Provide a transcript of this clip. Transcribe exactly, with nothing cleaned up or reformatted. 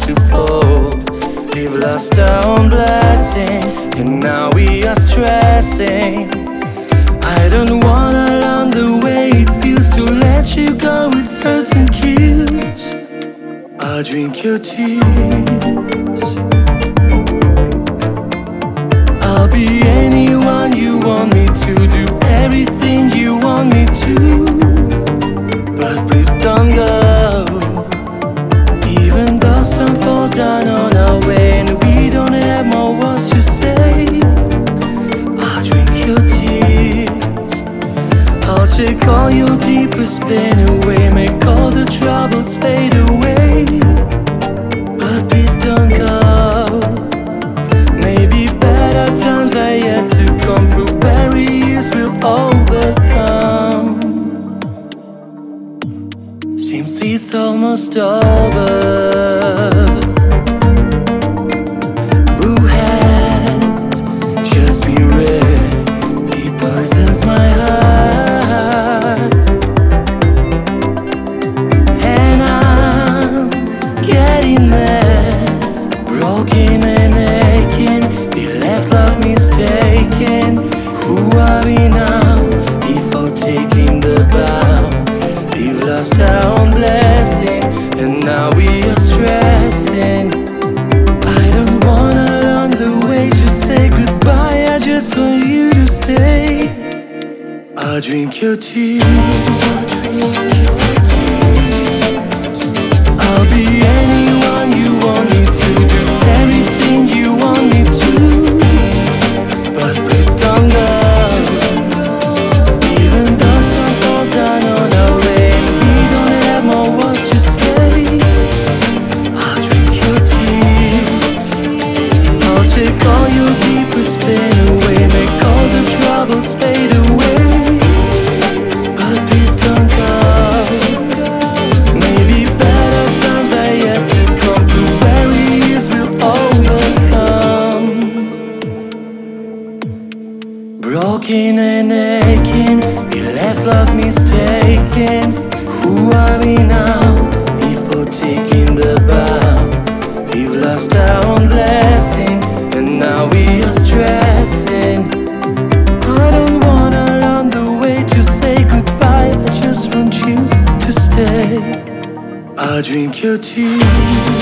to fall. We've lost our own blessing, and now we are stressing. I don't wanna learn the way it feels to let you go. It hurts and kills. I'll drink your tears. I'll be anyone you want me to, do everything you want me to, but please don't go. Even though storm falls down on our way and we don't have more words to say, I'll drink your tears. I'll take all your deepest pain away, make all the troubles fade away, but please don't go. Maybe better times are yet to come, through barriers we'll overcome. Seems it's almost over. Who has just be red, it poisons my heart, and I'm getting mad, broken and aching. We left love mistaken. Who are we now before taking the bow? We've lost our own blessing, and now we are stressing. I don't wanna learn the way to say goodbye, I just want you to stay. I'll drink your tears. I'll be anyone you want me to, do everything you want me to, but please don't go. Even though storm falls down on our way and we don't have more words to say, I'll drink your tears. I'll take all your deepest pain away, make all the troubles fade away, but please don't go. Maybe better times are yet to come, through barriers we'll overcome. Broken and aching, we left love mistaken. Who are we now before taking the bow? We've lost our own blessing, and now we are stressing. I don't wanna learn the way to say goodbye, I just want you to stay. I'll drink your tears.